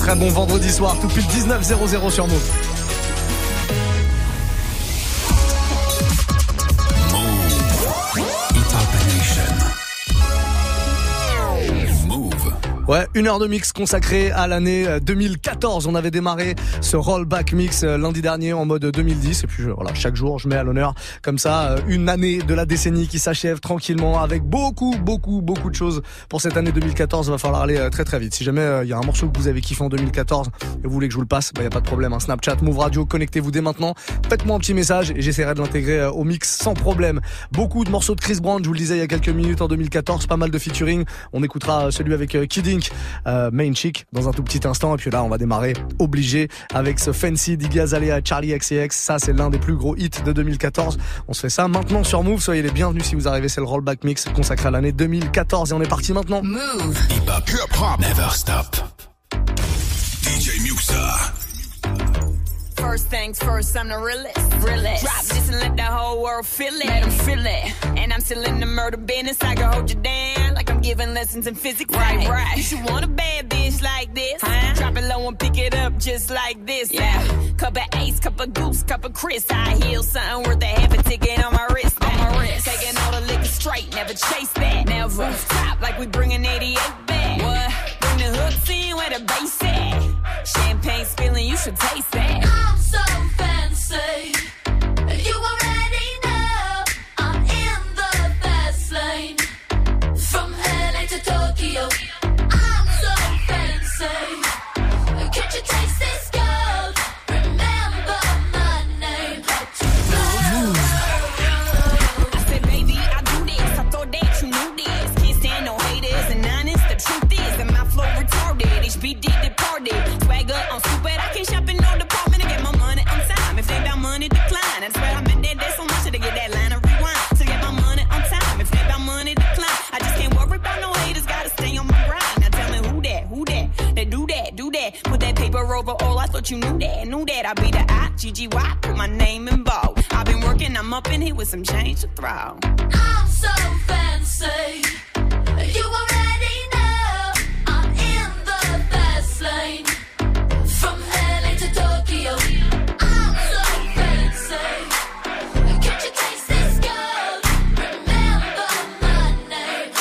très bon vendredi soir, tout pile 19:00 sur Move. Ouais, 1 heure de mix consacrée à l'année 2014. On avait démarré ce rollback mix lundi dernier en mode 2010. Et puis voilà, chaque jour, je mets à l'honneur comme ça une année de la décennie qui s'achève tranquillement avec beaucoup de choses pour cette année 2014. Il va falloir aller très très vite. Si jamais il y a un morceau que vous avez kiffé en 2014 et vous voulez que je vous le passe, il y a pas de problème. Snapchat, Move Radio, connectez-vous dès maintenant. Faites-moi un petit message et j'essaierai de l'intégrer au mix sans problème. Beaucoup de morceaux de Chris Brown, je vous le disais il y a quelques minutes en 2014, pas mal de featuring. On écoutera celui avec Kid Ink, Main Chick dans un tout petit instant, et puis là on va démarrer obligé avec ce Fancy d'Iggy Azalea, Charlie XCX. Ça c'est l'un des plus gros hits de 2014. On se fait ça maintenant sur Move. Soyez les bienvenus si vous arrivez, c'est le rollback mix consacré à l'année 2014 et on est parti maintenant. Move. Hip hop never stop. DJ Muxa. First things first, I'm the realest. Drop this and let the whole world feel it. Let them feel it. And I'm still in the murder business. I can hold you down like I'm giving lessons in physics. Right. You should want a bad bitch like this. Drop it low and pick it up just like this. Yeah. Cup of Ace, cup of Goose, cup of Chris. I heal something worth a half a ticket on my wrist. Taking all the liquor straight, never chase that. Never stop like we bringing 88 back. What? Bring the hooks in where the bass at. Champagne spilling, you should taste that. I'm so fancy. You already know I'm in the fast lane. From LA to Tokyo, I'm so fancy. Can't you taste this gold? Remember my name. I said, baby, I do this. I thought that you knew this. Can't stand no haters and honest. The truth is that my flow retarded. HBD departed. Swagger on stupid. I can't shop in no department to get my money on time. If they about money, decline. That's where I've been there so much to get that line of rewind. To get my money on time. If they about money, decline. I just can't worry about no haters. Gotta stay on my grind. Now tell me who that? They do that. Put that paper over all. I thought you knew that. I be the I-G-G-Y. Put my name in bold. I've been working, I'm up in here with some change to throw. I'm so fancy. You already know I'm in the fast lane. From LA to Tokyo, I'm so fancy. Can't you taste this gold? Remember my name.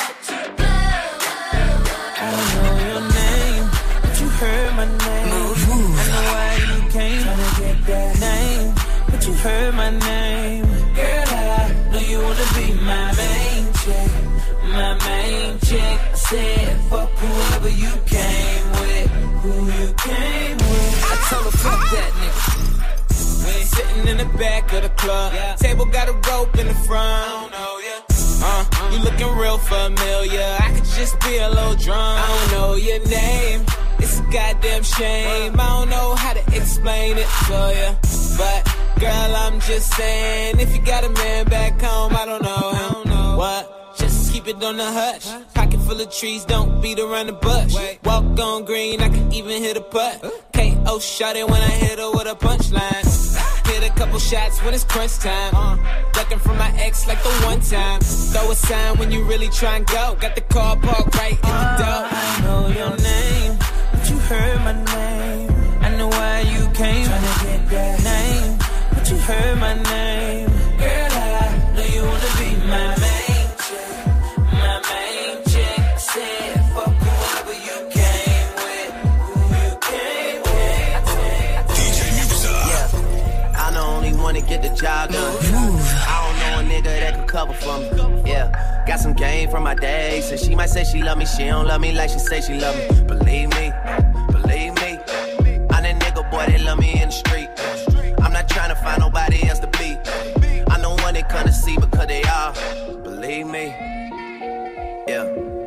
I know your name, but you heard my name. I know why you came, tryna get that name, but you heard my name. Girl, I know you wanna be my main chick, my main chick. I said, fuck whoever you came with, who you came with. I told her, fuck that nigga. We sitting in the back of the club, table got a rope in the front. I don't know ya. You looking real familiar. I could just be a little drunk. I don't know your name. It's a goddamn shame. I don't know how to explain it to ya, but girl, I'm just saying, if you got a man back home, I don't know what. Just keep it on the hush. Pocket full of trees, don't beat around the bush. Walk on green, I can even hit a putt. KO shot it when I hit her with a punchline. Hit a couple shots when it's crunch time. Ducking from my ex like the one time. Throw a sign when you really try and go. Got the car parked right in the door. I know your name, but you heard my name. I know why you came, tryna get that name, but you heard my name. Girl, I know you wanna be my main chick, my main chick. I said, fuck whoever you came with, who you came with. DJ Muxa. Yeah, I'm the only one to get the job done. I don't know a nigga that could cover for me. Yeah, got some game from my day. So she might say she love me, she don't love me like she say she love me. Believe me. I'm that nigga boy, they love me in the street. I'm not trying to find nobody else to be. I'm the one they come to see because they are. Believe me. Yeah.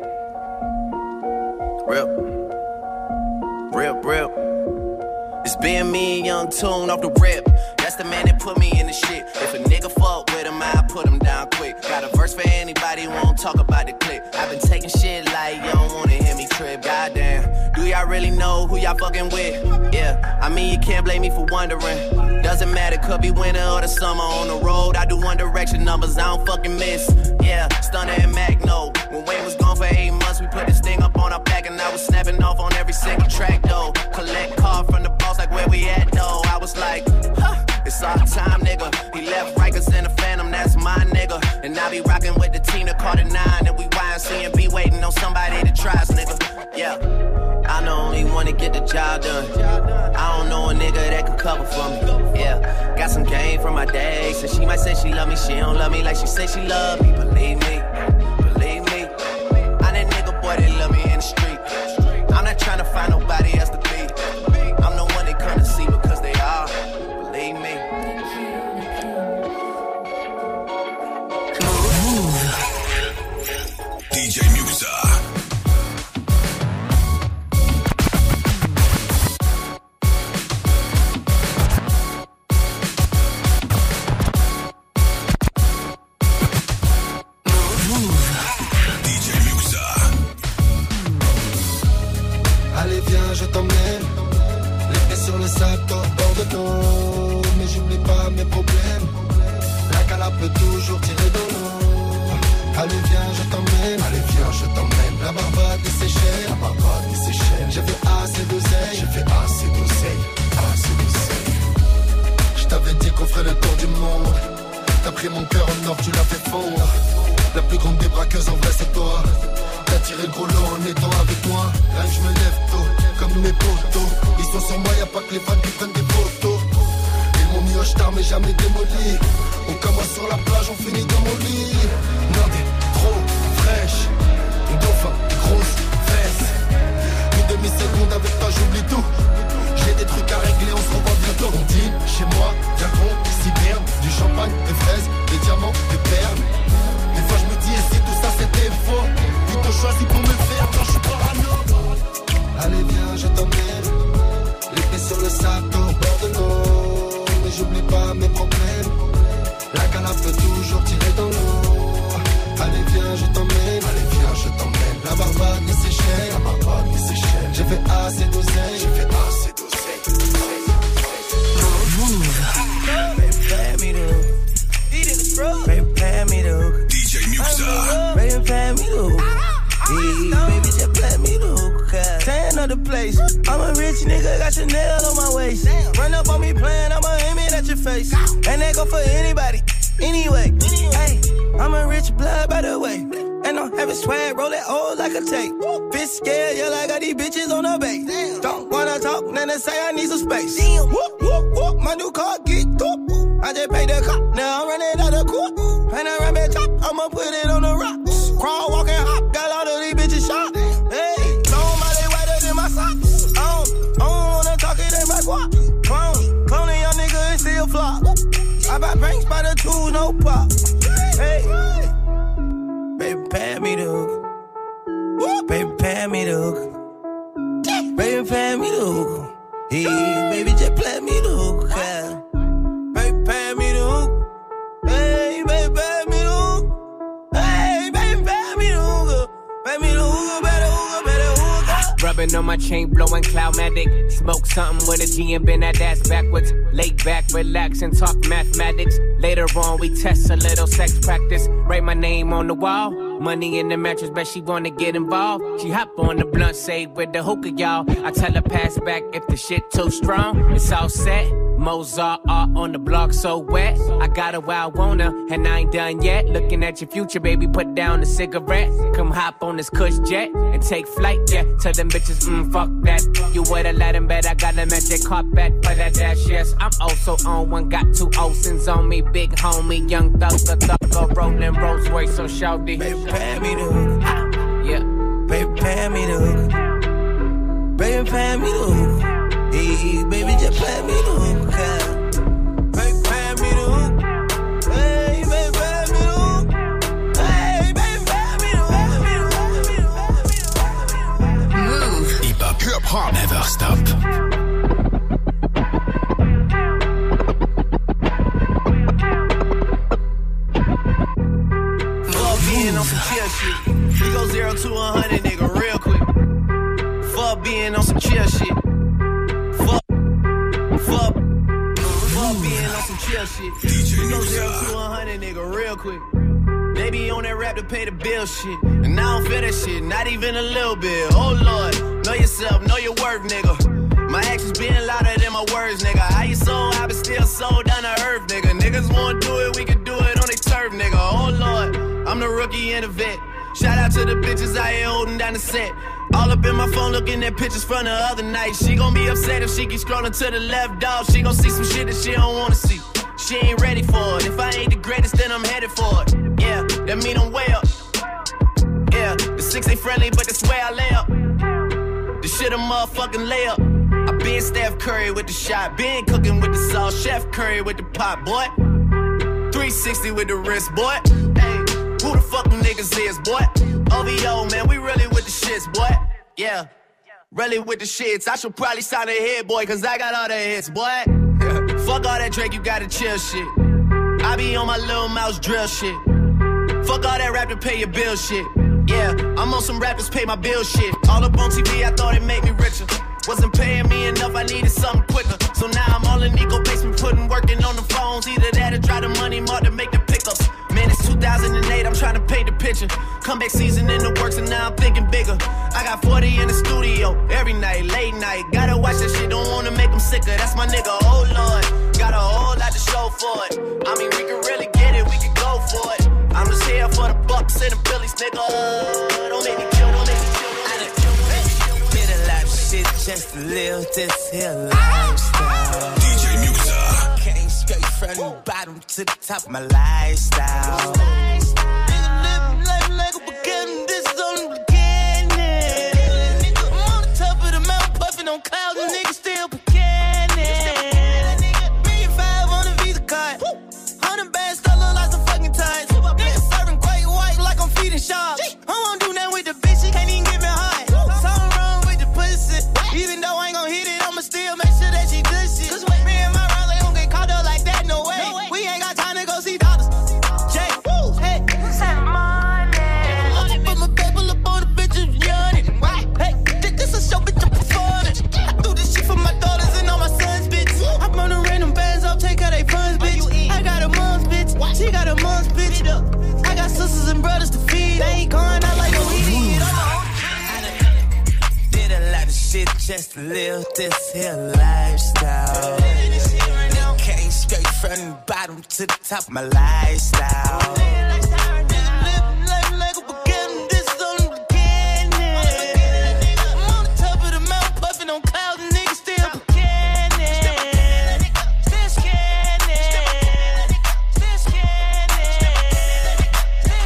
Real. It's being me and Young Tune off the rip. That's the man that put me in the shit. If a nigga fuck with him, I put him down quick. Got a verse for anybody who won't talk about the clip. I've been taking shit like you don't wanna hear me trip. Goddamn, do y'all really know who y'all fucking with? Yeah, I mean you can't blame me for wondering. Doesn't matter, could be winter or the summer. On the road, I do One Direction numbers, I don't fucking miss. Yeah, Stunner and Magno. When Wayne was gone for 8 months, we put this thing up on our back and I was snapping off on every single track though. Collect the Carter 9 and we YNC and be waiting on somebody to try us, nigga. Yeah, I'm the only one to get the job done. I don't know a nigga that could cover for me. Yeah, got some game from my day. So she might say she love me, she don't love me like she say she love me. Believe me, believe me. I'm that nigga boy that love me in the street. I'm not trying to find nobody else to be. I'm the one they come to see because they are. Believe me. DJ Muxa. Allez viens je t'emmène, les pieds sur le sable, au bord de l'eau. Mais j'oublie pas mes problèmes, la cala peut toujours tirer de l'eau. Allez viens je t'emmène, la Barbade des Seychelles, j'ai fait assez d'oseille, Je t'avais dit qu'on ferait le tour du monde, t'as pris mon cœur en or, tu l'as fait fondre. La plus grande des braqueuses en vrai c'est toi. T'as tiré le gros lot en étant avec moi. Là je me lève tôt, comme mes potos. Ils sont sur moi, y'a pas que les fans qui prennent des photos. Ils m'ont mis au star mais jamais démoli. On commence sur la plage, on finit dans mon lit. Non t'es trop fraîche, ton dauphin, tes grosses fesses. Une demi-seconde avec toi j'oublie tout. J'ai des trucs à régler, on se revoit bientôt. On dîne chez moi, viens qu'on s'hiberne. Du champagne, des fraises, des diamants, des perles. Des fois je me dis et si tout ça c'était faux. Plutôt choisi pour me faire quand je suis parano. Allez viens je t'emmène, les pieds sur le sable au bord de l'eau. Mais j'oublie pas mes problèmes, la cala peut toujours tirer dans l'eau. Allez viens je t'emmène, la Barbade des Seychelles, j'ai fait assez d'oseille, Prepare me to DJ Muxa. prepare me to baby, just let me know. Tan of the place. I'm a rich nigga, got Chanel on my waist. Run up on me playing, I'ma aim it at your face. And that go for anybody, anyway. Hey, I'm a rich blood by the way. And I'm having swag, roll it old like a tape. Bitch scared, yeah, like I got these bitches on the base. Don't wanna talk, then they say I need some space. Whoop, whoop, whoop, my new car get top. I just paid the cop, now I'm running out of court. Panoramic top, I'ma put it on the rocks. Crawl, walk, and hop, got all of these bitches shot. Hey, long body whiter than my socks. I don't wanna talk it in my guap. Cloning young nigga and still flop. I buy banks by the tools, no pop. Hey, baby, pay me the hook. Baby, pay me the hook. Baby, pay me the hook. Hey, baby, just play me the hook. Yeah. Baby, pay me the hook. Hey, baby, pay me the hook. Hey, baby, pay me the hook. Pay me the hook, better hook, better hook. Rubbing on my chain, blowing Cloudmatic. Smoke something with a G and bend that ass backwards. Lay back, relax, and talk mathematics. Later on, we test a little sex practice. Write my name on the wall. Money in the mattress, bet she wanna get involved. She hop on the blunt, say with the hookah, y'all. I tell her pass back if the shit too strong. It's all set. Mozart art on the block so wet. I got her where I want her, and I ain't done yet. Looking at your future, baby, put down the cigarette. Come hop on this cush jet and take flight, yeah. Tell them bitches, fuck that. You would've let them bet I got them at their carpet for that dash, yes. I'm also on one, got two Olsen's on me. Big homie, young thugger, rolling Rolls Royce, so shouty. Baby, pay me the hook. Yeah. Baby, pay me the hook. Baby, pay me the hook. Hey, baby, just pay me the hook. Baby, pay me the hook. Hey, baby, pay me the hook. Hey, baby, pay me the hook. Move. Hip hop never stop. Being on some chill shit. We go 0 to 100, nigga, real quick. Fuck being on some chill shit. Fuck being on some chill shit. We go 0 to 100, nigga, real quick. They be on that rap to pay the bill shit. And I don't feel that shit, not even a little bit. Oh Lord, know yourself, know your worth, nigga. My actions being louder than my words, nigga. How you so high but still so down to earth, nigga. Niggas wanna do it, we can do it on their turf, nigga. Oh Lord, I'm the rookie and the vet. Shout out to the bitches out here holding down the set. All up in my phone looking at pictures from the other night. She gon' be upset if she keep scrolling to the left, dog. She gon' see some shit that she don't wanna see. She ain't ready for it. If I ain't the greatest, then I'm headed for it. Yeah, that mean I'm way up. Yeah, the 6 ain't friendly, but that's where I lay up. The shit a motherfucking layup. I been Steph Curry with the shot, been cooking with the sauce, Chef Curry with the pot, boy. 360 with the wrist, boy. Hey, who the fuck them niggas is, boy? OVO, man, we really with the shits, boy. Yeah, really with the shits. I should probably sign a hit, boy, cause I got all the hits, boy. Fuck all that Drake, you gotta chill shit. I be on my little mouse drill shit. Fuck all that rap to pay your bill shit. Yeah, I'm on some rappers pay my bill shit. All up on TV, I thought it made me richer. Wasn't paying me enough, I needed something quicker. So now I'm all in Nico basement, working on the phones. Either that or try the money mark to make the pickups. Man, it's 2008, I'm trying to paint the picture. Comeback season in the works and now I'm thinking bigger. I got 40 in the studio, every night, late night. Gotta watch that shit, don't wanna make them sicker. That's my nigga, oh Lord. Got a whole lot to show for it. I mean, we can really get it, we can go for it. I'm just here for the Bucks and the Phillies, nigga. Don't make me kill, don't make me kill. Did a lot of shit just to live this here lifestyle. DJ Muxa. Came straight from the bottom to the top of my lifestyle. Nigga living life like a beginning, this is only the beginning. I'm on the top of the mountain, puffing on clouds, and niggas still beginning. $1.5 on the Visa card, 100 bands, still look like some fucking ties. Niggas serving great white like I'm feeding sharks. I won't do nothing with the bitch, she can't even get me high. Something wrong with the pussy, even though I ain't gon' hit it, I'ma still make sure that she does shit. Cause me and my rounds, they don't get caught up like that, no way. We ain't got time to go see doctors. Jay, woo, hey, send money. I put my paper up on the bitches yawning. Hey, this a show, bitch, I'm performing. I do this shit for my daughters and all my sons, bitch. I'm on the random bands up, take out they funds, bitch. I got a mom's bitch, she got a mom's bitch. I got sisters and brothers to feed. They ain't going out like a weed. Did a lot of shit just to live this here lifestyle. Came straight from the bottom to the top of my lifestyle. Living life like a beginning, this is only the beginning. I'm on the top of the mountain, puffing on clouds, and niggas still beginning. Still scanning. Still scanning. Still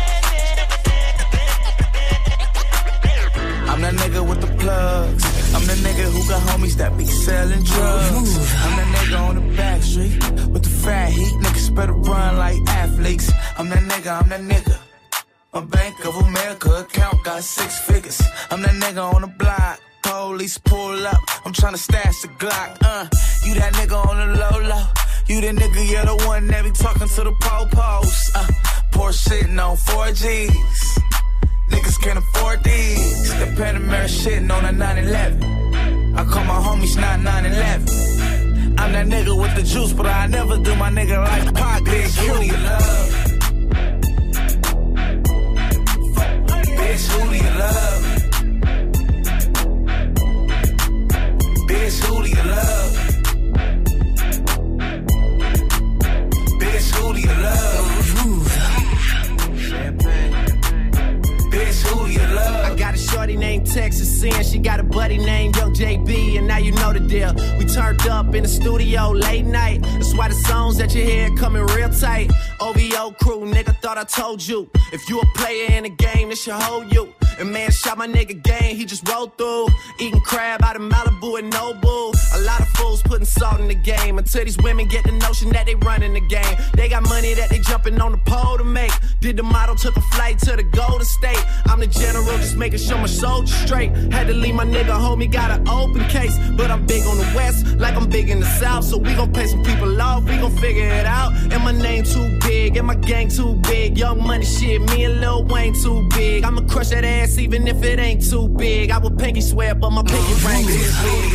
scanning. I'm that nigga with the plugs. I'm the nigga who got homies that be selling drugs. I'm that nigga on the back street with the fat heat. Niggas better run like athletes. I'm that nigga, I'm that nigga. My Bank of America account got 6 figures. I'm that nigga on the block. Police pull up, I'm tryna stash the Glock. You that nigga on the low-low. You the nigga, you're the one that be talking to the po-pos. Porsche sitting on 4Gs. Niggas can't afford these. The Panamera shitting on a 911. I call my homies 9911. I'm that nigga with the juice, but I never do my nigga like Pac. Bitch, who do you love? Bitch, who do you love? Bitch, who do you love? Bitch, who do you love? Champagne. Bitch, who do you love? I got a shorty named Texas Sin. She got a buddy named Young JB, and now you know the deal. We turned up in the studio late night. That's why the songs that you hear coming real tight. OVO crew, nigga, thought I told you. If you a player in the game, it should hold you. And man, shot my nigga game, he just rolled through. Eating crab out of Malibu and Nobu. A lot of fools putting salt in the game. Until these women get the notion that they running the game. They got money that they jumping on the pole to make. Did the model, took a flight to the Golden State. I'm the general, just making sure my soldiers straight. Had to leave my nigga homie, got an open case. But I'm big on the west, like I'm big in the south. So we gon' pay some people off, we gon' figure it out. And my name too big, and my gang too big. Young money shit, me and Lil Wayne too big. I'ma crush that ass even if it ain't too big. I would pinky swear, but my pinky ring is big.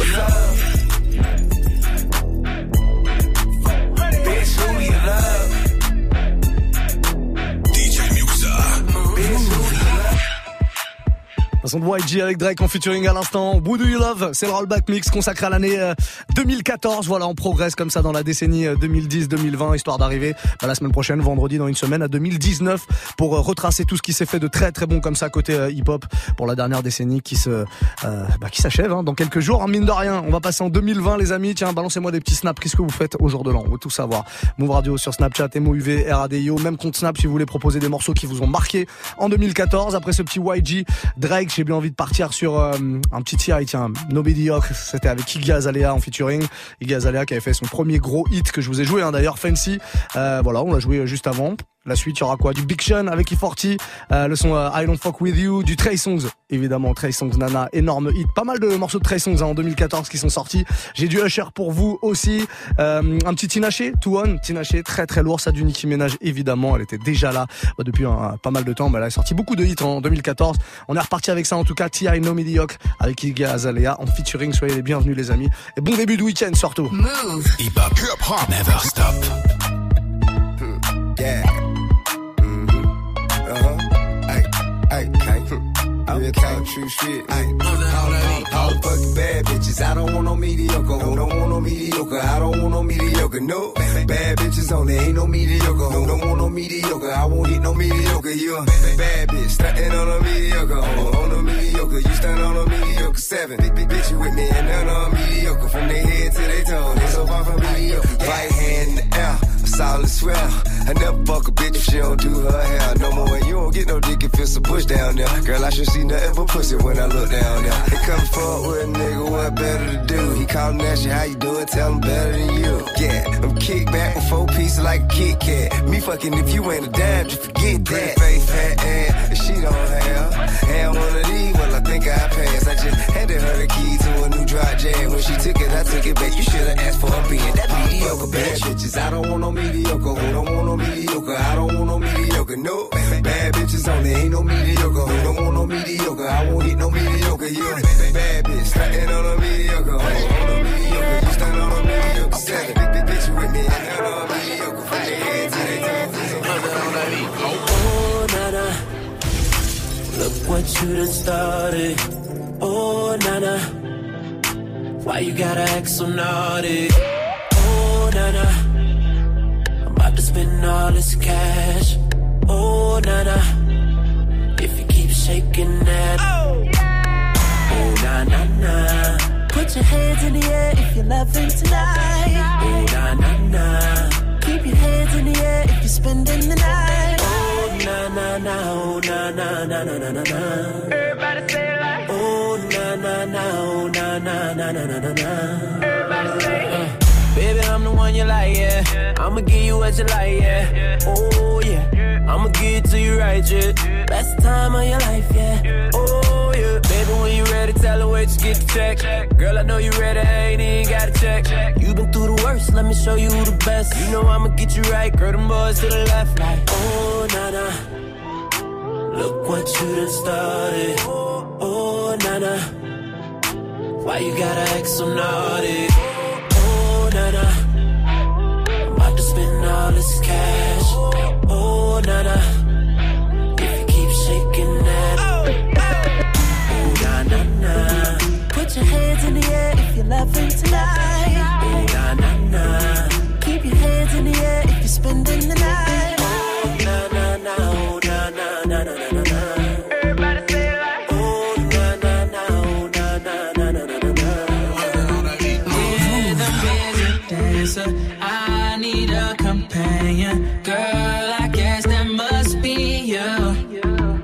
Bitch, who do you love? DJ Muxa. Bitch, who do you love? Un son de YG avec Drake en featuring à l'instant. Who Do You Love, c'est le rollback mix consacré à l'année 2014. Voilà, on progresse comme ça dans la décennie 2010-2020, histoire d'arriver la semaine prochaine, vendredi, dans une semaine, à 2019, pour retracer tout ce qui s'est fait de très très bon comme ça côté hip-hop pour la dernière décennie qui s'achève dans quelques jours. Mine de rien, on va passer en 2020, les amis. Tiens, balancez-moi des petits snaps. Qu'est-ce que vous faites au jour de l'an? On veut tout savoir. Move Radio sur Snapchat, MOUV, RADIO, même compte Snap si vous voulez proposer des morceaux qui vous ont marqué en 2014. Après ce petit YG, Drake, j'ai bien envie de partir sur un petit TI, tiens, No Mediocre. C'était avec Iggy Azalea en featuring. Iggy Azalea qui avait fait son premier gros hit que je vous ai joué d'ailleurs, Fancy. Voilà, on l'a joué juste avant. La suite, il y aura quoi? Du Big Sean avec E40, le son I Don't Fuck With You, du Trey Songz, évidemment, Trey Songz, Nana, énorme hit. Pas mal de morceaux de Trey Songz en 2014 qui sont sortis. J'ai du Usher pour vous aussi. Un petit Tinashe, Tinashe, très très lourd. Ça du Nicki Minaj, évidemment, elle était déjà là depuis pas mal de temps, mais elle a sorti beaucoup de hits en 2014. On est reparti avec ça en tout cas, T.I. No Mediocre avec Iggy Azalea en featuring. Soyez les bienvenus les amis. Et bon début de week-end surtout. Move. Hip hop, never stop. Yeah. Real talk, true shit. All the fucking bad bitches. I don't want no mediocre. Don't want no mediocre. I don't want no mediocre. No bad bitches only. Ain't no mediocre. Don't want no mediocre. I won't hit no mediocre. You a bad bitch stuntin' on a mediocre. On a mediocre. You stunt on a mediocre. 7 big bitch you with me and none on mediocre. From their head to their toe. They so far from mediocre. Right hand in the air. Solid swell. I never fuck a bitch if she don't do her hair no more. And you don't get no dick if it's a bush down there. Girl, I should see nothing but pussy when I look down there. They come forward with a nigga, what better to do? He callin' asking how you doing, tell him better than you. Yeah, I'm kick back with 4 pieces like a Kit Kat. Me fucking if you ain't a dime, just forget that. Pretty face, fat ass, and she don't have. Have one of these, well I think I passed. I just handed her the key to a new dry jam. When she took it, I took it back. You should've asked for a being that mediocre bad bitches. I don't want no mediocre, don't want no mediocre. I don't want no mediocre, no bad bitches only. Ain't no mediocre, don't want no mediocre. I won't hit no mediocre. You bad bitch, stuntin' on a mediocre. On a mediocre, you stuntin' on a mediocre. 7 big bitch you with me, and none on a mediocre. From their head to their toes. Oh, Nana, look what you done started. Oh, Nana, why you gotta act so naughty? Oh, Nana, I'm about to spend all this cash. Oh, Nana, if you keep shaking that. Oh, na na na. Put your hands in the air if you're loving tonight. Oh, na na na. Keep your hands in the air if you're spending the night. Oh, na na na. Oh, na na na na na na na. Everybody say it like. Oh, na na na. Oh, na na na na na na na. Everybody say it. Baby, I'm the one you like, yeah. I'ma give you what you like, yeah. Oh, yeah. I'ma give it to you right, yeah. Best time of your life, yeah. Oh, yeah. Baby, when you ready, tell her where you get the check. Girl, I know you ready, I ain't even gotta check. You been through the worst, let me show you who the best. You know I'ma get you right, girl, them boys to the left, like. Oh, Nana, look what you done started. Oh, Nana, why you gotta act so naughty? Nana, I'm about to spend all this cash. Oh, Nana, if you keep shaking that. Oh, na na na. Put your hands in the air if you're loving tonight. Oh, na na na. Keep your hands in the air if you're spending the night. Oh, na na na. Oh, na na na na na na. Everybody say it like. Oh, na na na. Oh, na na na na na na. I need a companion. Girl, I guess that must be you.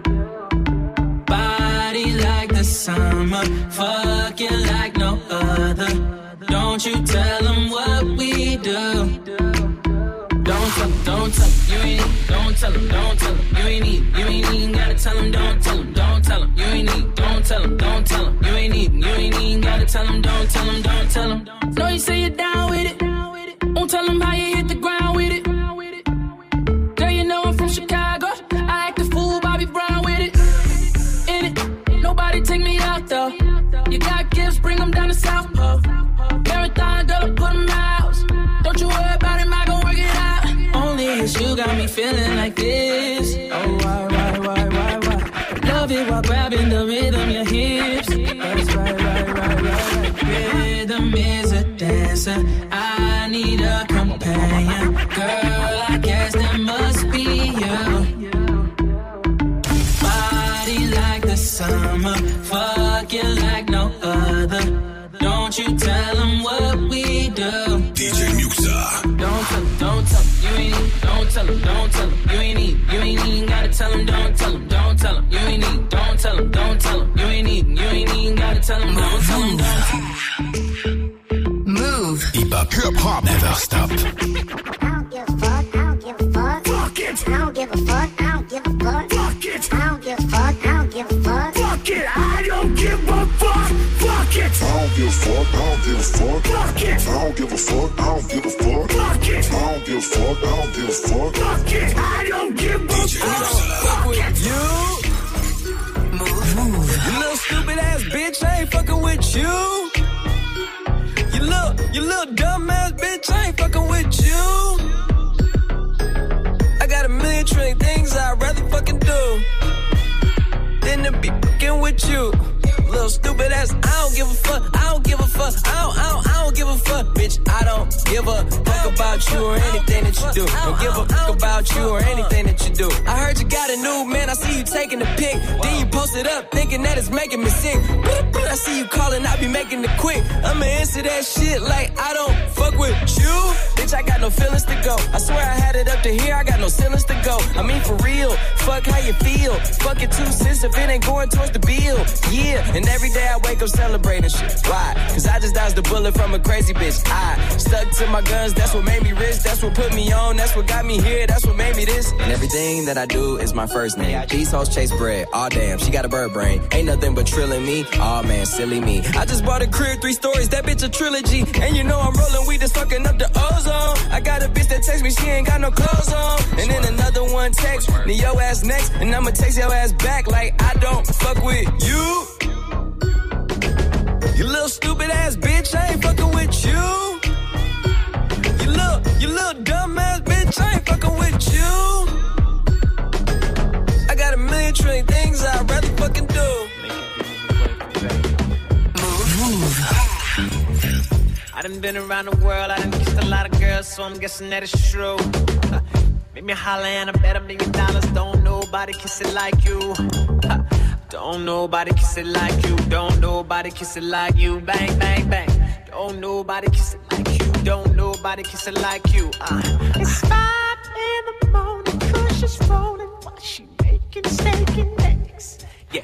Body like the summer, fucking like no other. Don't you tell them what we do. Don't tell them, you ain't need. Don't tell them, you ain't need. You ain't even gotta tell them, don't tell them, you ain't need. Don't tell them, you ain't need. You ain't even gotta tell them, don't tell them. Know you say you're down with it. Won't tell them how you hit the ground with it. Girl, you know I'm from Chicago. I act a fool, Bobby Brown with it. In it, nobody take me out though. You got gifts, bring them down to South Pole. Marathon, girl, I put them out. Don't you worry about him, I gon' work it out. Only it's you got me feeling like this. Oh, why? Love it while grabbing the rhythm, said I need a companion. Girl, I guess that must be you. Body like the summer, fucking like no other. Don't you tell them what we do. DJ Muxa. Don't tell them, don't tell them, you ain't need. Don't tell them, don't tell them, you ain't need. You ain't even gotta tell them, don't tell them, don't tell them, you ain't need. Don't tell them, don't tell them, you ain't even gotta tell them, don't tell them, don't tell them. Move. Hip hop never stop. I don't give a fuck, I don't give a fuck. Fuck it. I don't give a fuck, I don't give a fuck. Fuck it. I don't give a fuck, I don't give a fuck. Fuck it. I don't give a fuck. Fuck it. I don't give a fuck, I don't give a fuck. Fuck it. I don't give a fuck, I don't give a fuck. Fuck it. I don't give a fuck, I don't give a fuck. Fuck it. I don't give a fuck. Fuck with you. Move. You little stupid ass bitch, I ain't fucking with you. You little dumb ass bitch, I ain't fucking with you. I got a million trillion things I'd rather fucking do than to be fucking with you. Little stupid ass, I don't give a fuck, I don't give a fuck, I don't give a fuck, bitch. I don't give a fuck about you or anything that you do. Don't give a fuck about you or anything that you do. I heard you got a new man, I see you taking the pic. Then you post it up, thinking that it's making me sick. I see you calling, I be making it quick. I'ma answer that shit like I don't fuck with you. Bitch, I got no feelings to go. I swear I had it up to here, I got no ceilings to go. I mean for real, fuck how you feel. Fuck it 2 cents if it ain't going towards the bill. Yeah, and every day I wake up celebrating shit. Why? Cause I just dodged a bullet from a crazy bitch. I stuck to my guns, that's what made me rich. That's what put me on, that's what got me here. That's what made me this. And everything that I do is my first name. These hoes chase bread, aw damn, she got a bird brain. Ain't nothing but trilling me, aw man, silly me. I just bought a crib, 3 stories, that bitch a trilogy. And you know I'm rolling weed and sucking up the ozone. I got a bitch that text me, she ain't got no clothes on. And then another one text me, your ass next. And I'ma text your ass back like I don't fuck with you. You little stupid ass bitch, I ain't fucking with you. You little dumb ass bitch, I ain't fucking with you. I got a million trillion things I'd rather fucking do. Move. I done been around the world, I done kissed a lot of girls, so I'm guessing that it's true. Make me holler and I bet $1 million. Don't nobody kiss it like you. Don't nobody kiss it like you. Don't nobody kiss it like you. Bang, bang, bang. Don't nobody kiss it like you. Don't nobody kiss it like you. It's 5 in the morning, Kush is rolling while she making steak and eggs. Yeah.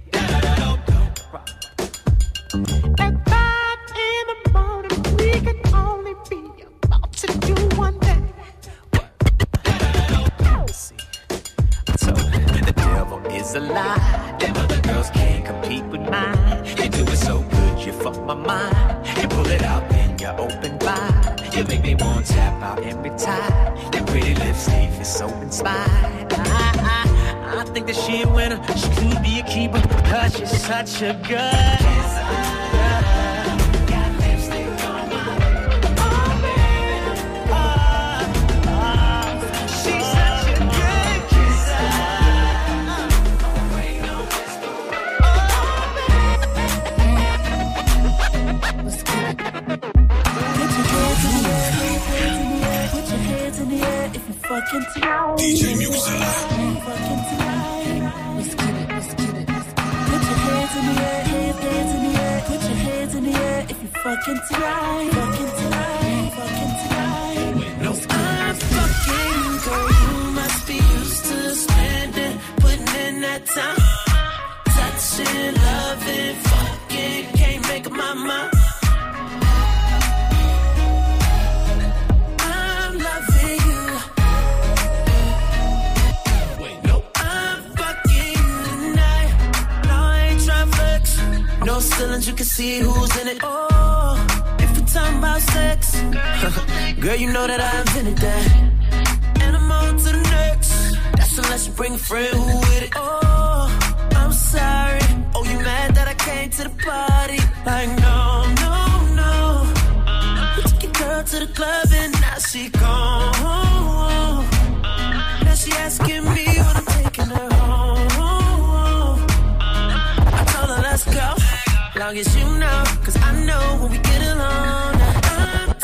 At 5 in the morning, we can only be about to do one thing. So the devil is a lie. Them other girls can't compete with mine. You do it so good, you fuck my mind. You pull it out, then you open wide. You make me want to tap out every time. Your pretty lips leave you so inspired. I think that she a winner. She could be a keeper because she's such a good kisser. DJ Muxa. Let's get it, let's get it. Put your hands in the air, hands in the air. Put your hands in the air if you fucking tonight, fucking tonight, fucking tonight. No, I'm fucking girl. You must be used to spending, putting in that time, touching, loving, fucking. Can't make up my mind. No ceilings, you can see who's in it. Oh, if we're talking about sex, girl, you know that I invented that. And I'm on to the next. That's unless you bring a friend who with it. Oh, I'm sorry. Oh, you mad that I came to the party? Like, no, no, no. You took your girl to the club and now she gone. Now she asking me when I'm taking her home. I told her let's go. Long as you know, cause I know when we get along, I'm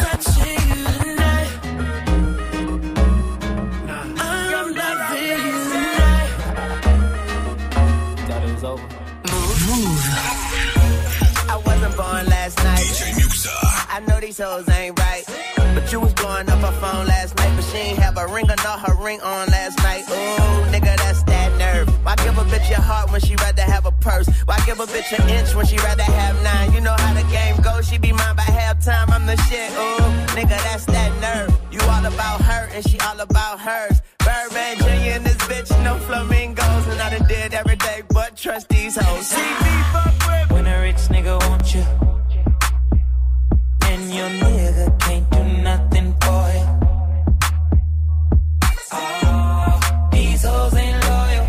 I wasn't born last night. DJ Muxa. I know these hoes ain't right. But you was blowing up her phone last night. But she ain't have a ring or not her ring on last night. Ooh, nigga, that's that nerve. Why give a bitch your heart when she rather have a purse? Why give a bitch an inch when she rather have 9? You know how the game goes. She be mine by halftime. I'm the shit. Ooh, nigga, that's that nerve. You all about her and she all about hers. Birdman Jr. and this bitch, no flamingos. And I done did every day but trust these hoes. See me fuck with. When a rich nigga wants you, and your nigga can't do nothing for you. Oh, these hoes ain't loyal.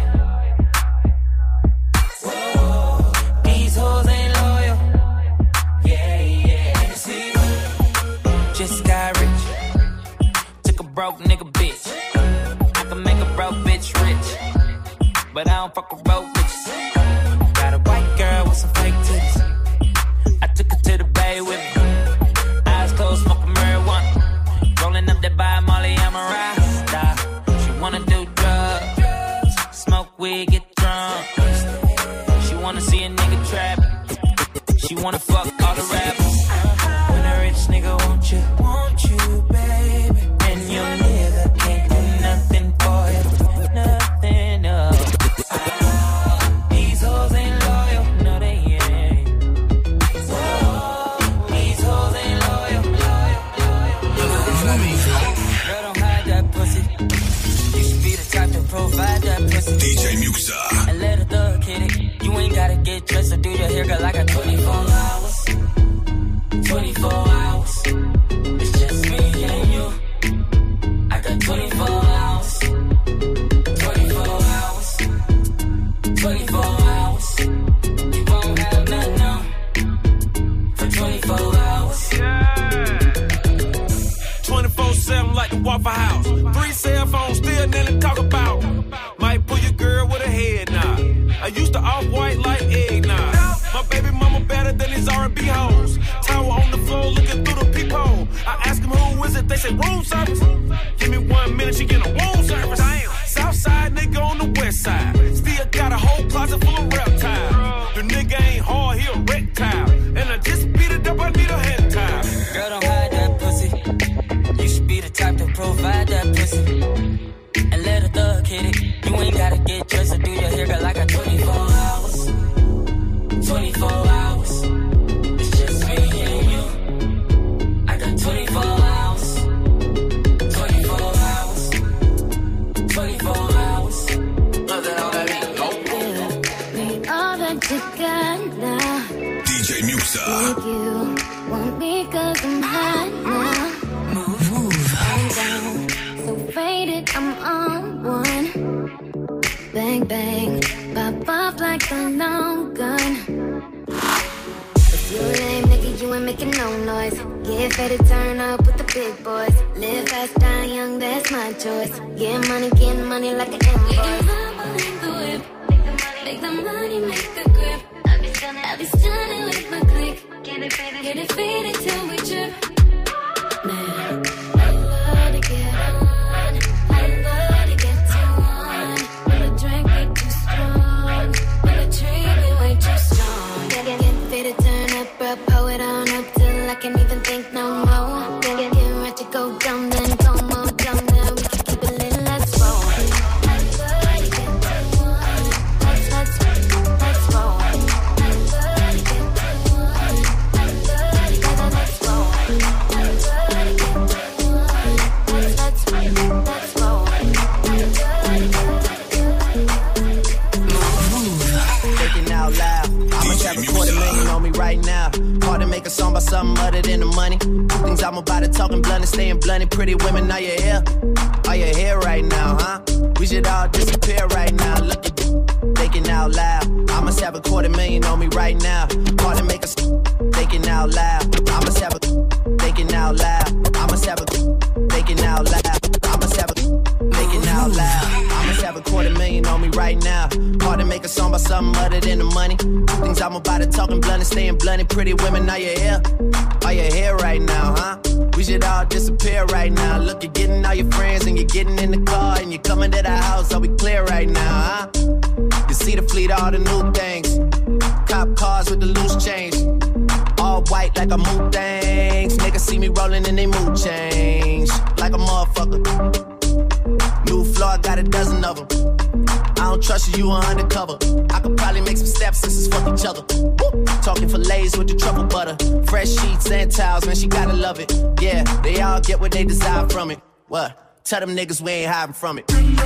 Whoa, these hoes ain't loyal. Yeah, yeah. See, just got rich. Took a broke nigga bitch. I can make a broke bitch rich, but I don't fuck with broke bitches. Got a white girl with some fake titties. I took her to the bay with me. Eyes closed, smoking marijuana. Rolling up that by Molly, I'm a rasta. She wanna do drugs, smoke weed, get drunk. She wanna see a nigga trap. She wanna fuck all the rappers. When a rich nigga want you, baby. And your nigga can't do nothing for you, nothing, no. These hoes ain't loyal, no they ain't. Whoa, these hoes ain't loyal, Girl, don't hide that pussy. You should be the type to provide that pussy. DJ Muxa. And let a thug hit it. You ain't gotta get dressed or do your hair, girl. I got 24 hours. 24 hours. It's just me and you. I got 24 hours. 24 hours. 24 hours. You won't have nothing on for 24 hours. 24/7 like the Waffle House. 3 cell phones, still nothing to talk about. Might pull your girl with a head nod. I used to off-white like eggnog. My baby mama better than these R&B hoes. Tower on the floor looking through the peephole. I ask them who is it, they say room service. Give me 1 minute, she get a room service. Southside nigga on the west side. Still got a whole closet full of reptiles. The nigga ain't hard, he a reptile. And I just beat it up, I need a head tie. Girl, don't hide that pussy. You should be the type to provide that pussy. And let a thug hit it. You ain't gotta get dressed or do your hair, girl. I got 24 hours. 24 hours. It's just me and you. I got 24 hours. 24 hours. 24 hours. Me all that you got now. DJ Muxa. Think you want me 'cause I'm hot now. I'm down, so faded, I'm on one. Bang, bang, pop off like a long gun. If you lame, nigga, you ain't making no noise. Get ready to turn up with the big boys. Live fast, die young, that's my choice. Get money like an invoice. Make the whip, make the money, make the grip. I be stunning with my click. Get it faded till we trip. Man, I love to get on. I love to get too on. When the drink be too strong, when the tree be way too strong. Get faded, turn up, bro, pull it on up till I can't even think no more. Get ready to go dumb, then go more dumb. Now we can keep it lit, let's roll. I love to get too on. Let's roll. I love to get too on. I love to get let's roll. I love to get too on. Let's roll. Thinking out loud. I must have a $250,000 on me right now. Hard to make a song about something other than the money. Two things I'm about to talking blunt and staying blunt. Pretty women, are you here? Are you here right now, huh? We should all disappear right now. Look at you, thinking out loud. I must have a $250,000 on me right now. Hard to make a thinking out loud. I must have a thinking out loud. I must have a thinking out loud. I must have a thinking out loud. I must have a $250,000 on me right now. Hard to make a song about something other than the money. Two things I'm about to talking blunt and staying blunt. Pretty women, are you here? Are you here right now, huh? We should all disappear right now. Look, you're getting all your friends and you're getting in the car and you're coming to the house. Are we clear right now, huh? You see the fleet, all the new things. trust you are undercover. I could probably make some stepsisters fuck each other. Woo. Talking fillets with the truffle butter. Fresh sheets and towels, man, she gotta love it. Yeah, they all get what they desire from it. What? Tell them niggas we ain't hiding from it.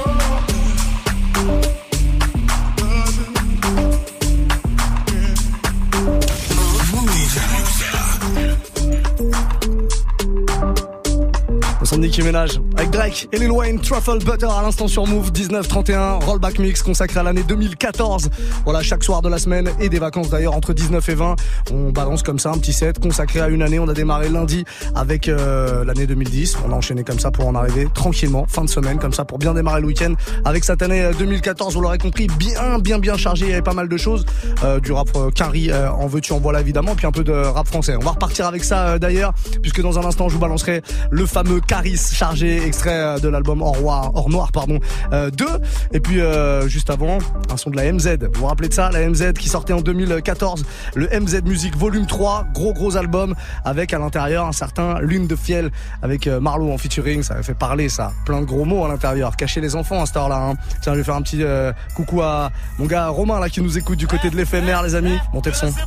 Son Nicki Minaj avec Drake et Lil Wayne, Truffle Butter à l'instant sur Move, 19-31, rollback mix consacré à l'année 2014. Voilà, chaque soir de la semaine et des vacances d'ailleurs, entre 19 et 20, on balance comme ça un petit set consacré à une année. On a démarré lundi avec l'année 2010, on a enchaîné comme ça pour en arriver tranquillement, fin de semaine comme ça pour bien démarrer le week-end avec cette année 2014, vous l'aurez compris, bien chargé, il y avait pas mal de choses, du rap Quinry, en veux-tu en voilà évidemment, puis un peu de rap français. On va repartir avec ça d'ailleurs, puisque dans un instant je vous balancerai le fameux Caris chargé, extrait de l'album Hors Noir 2, et puis juste avant un son de la MZ, vous vous rappelez de ça, la MZ qui sortait en 2014, le MZ Music Volume 3, gros album avec à l'intérieur un certain Lune de Fiel avec Marlo en featuring, ça avait fait parler ça, plein de gros mots à l'intérieur, cacher les enfants à cette heure là hein. Tiens, je vais faire un petit coucou à mon gars Romain là qui nous écoute du côté de l'éphémère les amis, montez le son.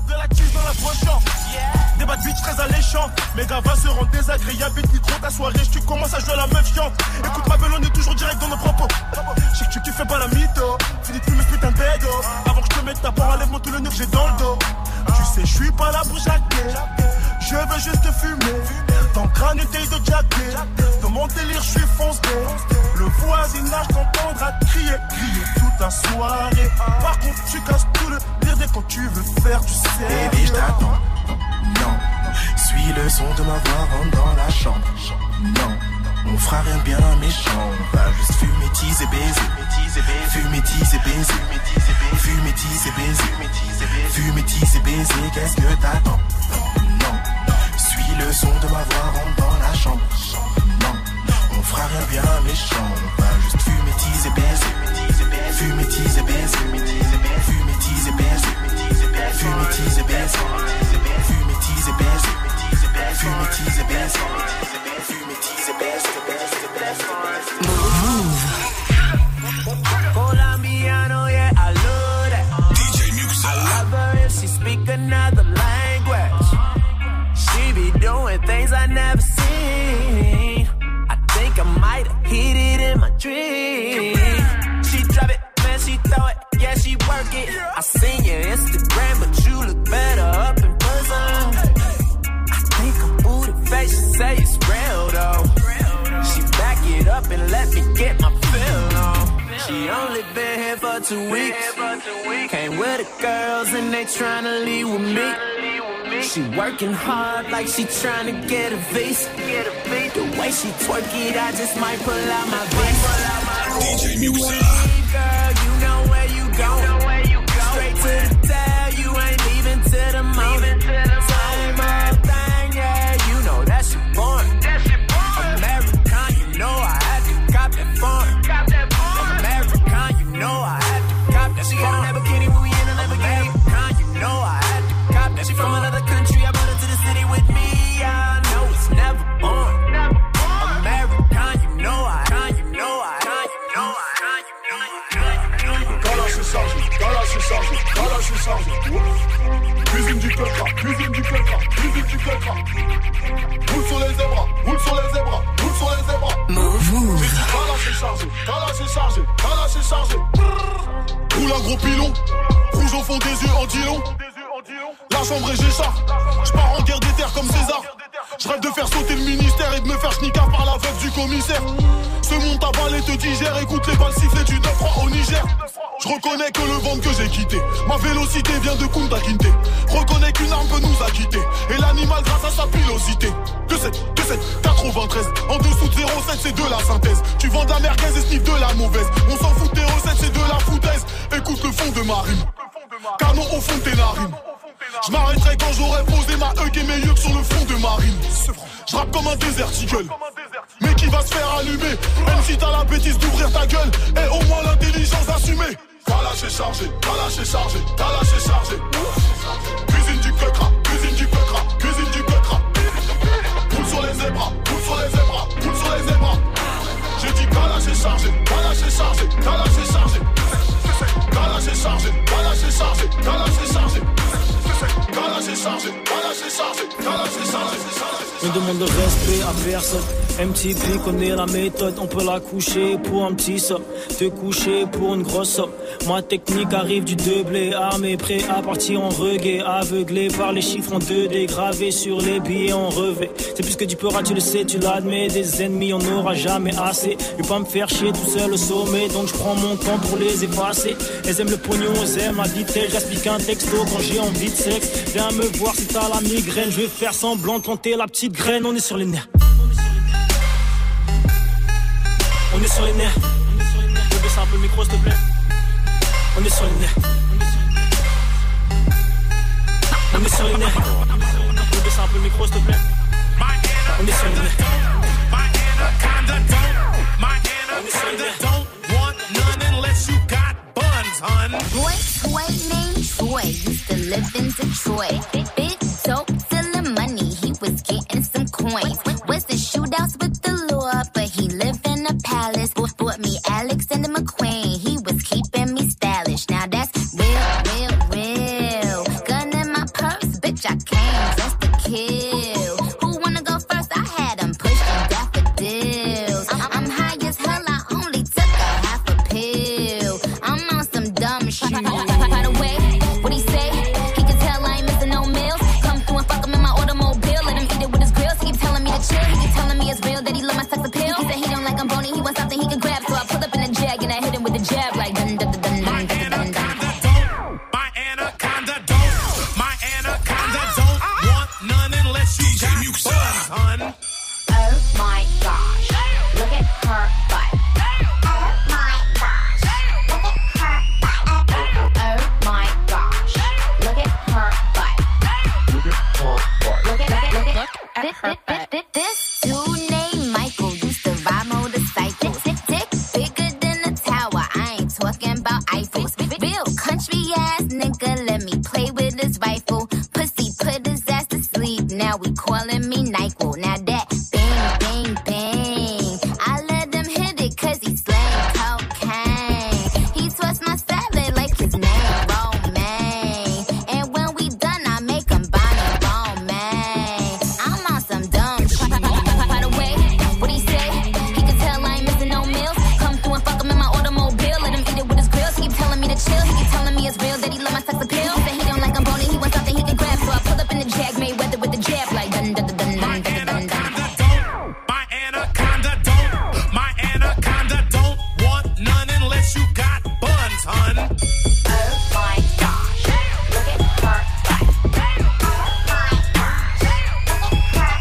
Des bad bitch très alléchants. Mes gars va se rendre désagréable. Vite micro ta soirée, tu commences à jouer à la meuf chiante. Écoute ma belle, on est toujours direct dans nos propos. Je sais que tu kiffes pas la mytho. Finis de fumer ce putain de bédo. Avant que je te mette ta part, enlève-moi tout le nœud que j'ai dans le dos. Tu sais, je suis pas là pour jacquer. Je veux juste te fumer. Ton crâne essaye de jacker. Dans mon délire, je suis foncé. Le voisinage t'entendra crier toute la soirée. Par contre, tu casses tout le pire dès quand tu veux faire du sérieux. Baby, je t'attends. Non, suis le son de ma voix, rentre dans la chambre. Non, on fera rien de bien méchant. On va juste fumer, teaser, baiser. Fumer, teaser, baiser. Fumer, teaser, baiser. Fumer, teaser, baiser. Qu'est-ce que t'attends? Non, suis le son de ma voix, rentre dans la chambre. Non, on fera rien de bien méchant. On va juste fumer, teaser, baiser. Fumer, teaser, baiser. Fumer, teaser, baiser. Fumer, teaser, baiser. Colombiano, yeah, I love that. DJ Muxa. I love her if she speak another language. She be doing things I never seen. I think I might have hit it in my dream. She drop it, man, she throw it, yeah, she work it. I seen your Instagram, but you look better up in person. She say it's real though. She back it up and let me get my feel on. She only been here for 2 weeks. Came with the girls and they tryna leave with me. She working hard like she tryna get a visa. The way she twerk it, I just might pull out my visa. DJ Muxa. Girl, you know where you going. Straight to the tail, you ain't leaving till the moment. Same old thing, yeah, you know that shit boring. American, you know I had to cop that foreign. American, you know I had to cop that. She got a Lamborghini when we in a Lamborghini. American, you know I had to cop that. She from another country, I brought her to the city with me. I know it's never boring. American, you know I. Cuisine du coca, cuisine du coca, cuisine du coca. Roule sur les zébras, roule sur les zébras, roule sur les zébras. Move. Calage est chargé. Roule un gros pilon, rouge au fond des yeux en dilon. La chambre et j'écharpe, j'pars en guerre des terres comme César. J'rêve de faire sauter le ministère et de me faire schnicard par la veuve du commissaire. Ce monde t'avale et te digère, écoute les balles siffler du 9-3 au Niger. J'reconnais que le ventre que j'ai quitté, ma vélocité vient de Kunta Kinte. Reconnais qu'une arme peut nous acquitter, et l'animal grâce à sa pilosité. 2-7, 93, en dessous de 0,7 c'est de la synthèse. Tu vends de la merguez et sniff de la mauvaise. On s'en fout de tes recettes, c'est de la foutaise. Écoute le fond de ma rime, canon au fond de tes narines. J'm'arrêterai quand j'aurai posé ma hug et mes yeux sur le front de ma rime. J'rappe comme un déserticle, mais qui va se faire allumer. Même si t'as la bêtise d'ouvrir ta gueule, et au moins l'intelligence assumée. Calage est chargé, calage est chargé, calage est chargé. Cuisine du coca, cuisine du coca, cuisine du coca. Roule sur les zébras, roule sur les zébras, roule sur les zébras. J'ai dit calage est chargé, calage est chargé, calage est chargé. chargé, On demande de respect à personne. MTP connaît la méthode, on peut la coucher pour un petit somme, te coucher pour une grosse somme. Ma technique arrive du doublé, armé, prêt à partir en reggae, aveuglé par les chiffres en 2D, gravés sur les billets en revêt. C'est plus que du peur, tu le sais, tu l'admets, des ennemis on n'aura jamais assez. Je vais pas me faire chier tout seul au sommet, donc je prends mon temps pour les effacer. Elles aiment le pognon, elles aiment la vitesse, j'explique un texto quand j'ai envie de sexe. Viens me voir si t'as la migraine, je vais faire semblant de planter la petite graine, on est sur les nerfs. On est sur les nerfs. Je baisse un peu le micro s'il te plaît. On est sur les nerfs. On est sur les nerfs. Je baisse un peu le micro s'il te plaît. On est sur les nerfs. My anaconda don't want none unless you got buns, hun. Boy named Troy used to live in Detroit. Big dope, selling money, he was getting some coins. Was in shootouts with the law, but he lived in a palace. Bought me Alexander McQueen, he was keeping me stylish. Now that's real. Gun in my purse, bitch, I came just to kill. Who wanna go first? I had him pushing daffodils. I'm high as hell, I only took a half a pill. I'm on some dumb shit. By the way, what he say? He can tell I ain't missing no meals. Come through and fuck him in my automobile. Let him eat it with his grills. He keep telling me to chill. He keep telling me it's real that he love my sex appeal. He said he don't like I'm bony. He wants something he can grab. So I pull up in a jag and I hit him with a jab like dun dun dun dun dun dun dun dun. My anaconda don't want none unless you got buns, hun. Oh my gosh, look at her butt. Oh my gosh, look at her butt. Oh my gosh, look at her butt. Look at her butt. This dude named Michael used to ride motorcycles. Dick bigger than a tower. I ain't talking about Eiffels. Real country ass nigga, let me play with his rifle. Pussy put his ass to sleep. Now we calling me NyQuil. Now that bang bang bang, I let him hit it 'cause he slang cocaine. He twists my salad like his name Romaine. And when we done, I make him Bonnie Romaine. I'm on some dumb shit. By the way, what he say? He can tell I ain't missing no meals. Come through and fuck him in my automobile. Let him eat it with his grills. He keep telling me to chill. He keep telling me it's real that he love my sex appeal. He said he don't like I'm bony. He wants something he can grab. So I pull up in the jag, made weather with the jab like dun dun dun dun dun dun dun dun. My anaconda don't want none unless you got buns, hun. Oh my gosh, look at her butt. Oh my gosh, look at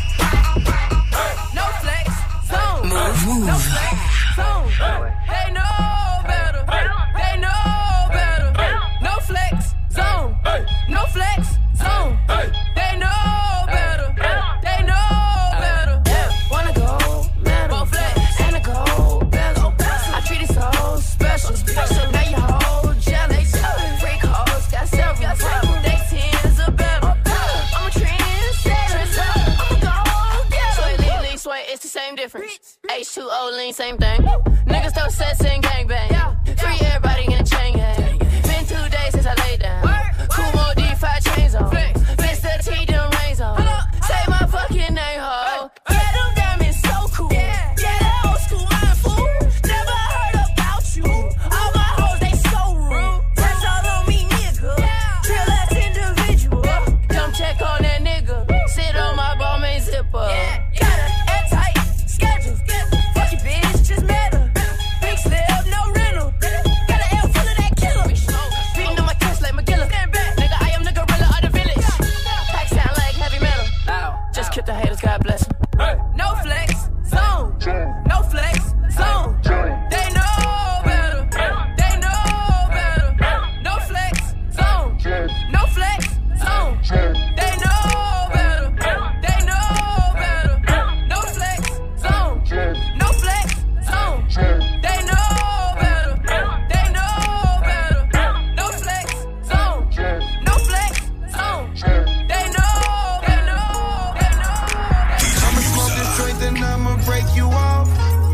her butt. No flex, zone. No flex, zone. They know better. They know better. No flex, zone. No flex, zone. They know better. They know better. Wanna go metal, flex, and a gold bezel. I treat it so special. Now you hold jealous. Freak hoes got several. They tens are better. I'm a trendsetter. I'm a gold getter. Sway, lean, sway, it's the same difference. H2O, lean, same thing. Niggas throw sets and gangbang. Free everybody in a chain gang. Been 2 days since I laid down. Kumo D5 chains on. Mr. T, them rains on. Say my fucking name, ho. Yeah, them diamonds so cool. Yeah, that old school mind fool. Never heard about you. All my hoes, they so rude. That's all on me, nigga. Real ass individual. Come check on that nigga. Sit on my ball main zipper. Got a airtight schedule. Fuck your bitch, just met her. Big slip, no rental. Got an L full of that killer. Beating on my chest like McGilla. Nigga, I am the gorilla of the village. Pack sound like heavy metal. Just kill the haters, God bless them. No flex, zone. No flex, zone. They know better. They know better. No flex, zone. No flex, zone. They know better. They know better. No flex, zone. No flex, zone. They know better. They know better. No flex, zone. No flex, zone. They know, they know, they know. I'ma smoke this joint, then I'ma break you off.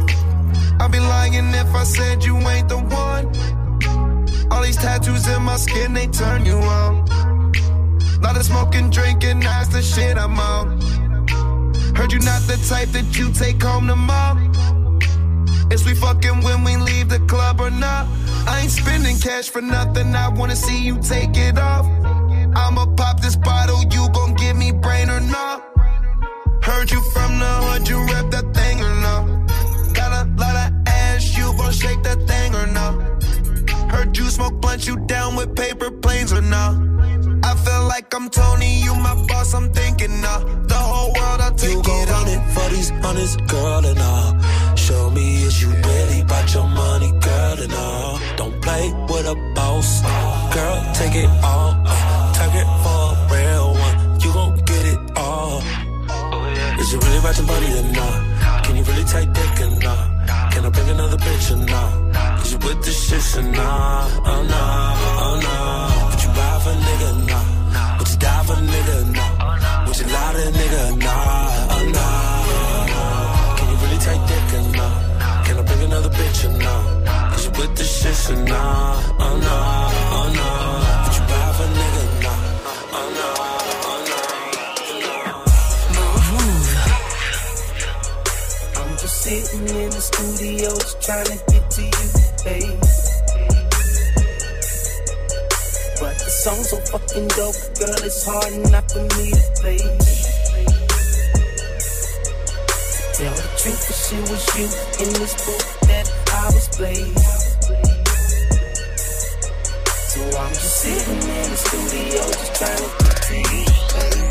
I'd be lying if I said you ain't the one. All these tattoos in my skin, they turn you on. Lot of smoke smoking, drinking, that's the shit I'm on. Heard you not the type that you take home to mom. Is we fucking when we leave the club or not? I ain't spending cash for nothing, I wanna see you take it off. I'ma pop this bottle, you gon' give me brain or not? Heard you from the hood, you rep that thing or not? Got a lot of ass, you gon' shake that thing or not? Heard you smoke blunt, you down with paper planes or not? I feel like I'm Tony, you my boss, I'm thinking the whole world, I'll take it. You gon' run it for these honest, girl, and all. Show me is you really about your money, girl, and all. Don't play with a boss, girl, take it all. Target for a real one, you gon' get it all. Is you really about your money or not? Can you really take dick or not? Can I bring another bitch or not? Is you with the shit or not? Oh no, oh no. Would you ride for a nigga or not? Would you die for a nigga or not? Would you lie to a nigga or not? Oh no. Can you really take dick or not? Can I bring another bitch or not? Is you with the shit or not? Oh no, oh no. Would you ride for a nigga or not? Oh no. Sitting in the studio just trying to get to you, babe. But the song's so fucking dope, girl, it's hard not for me to play. Tell the truth, if it was you in this book that I was playing. So I'm just sitting in the studio just trying to get to you, babe.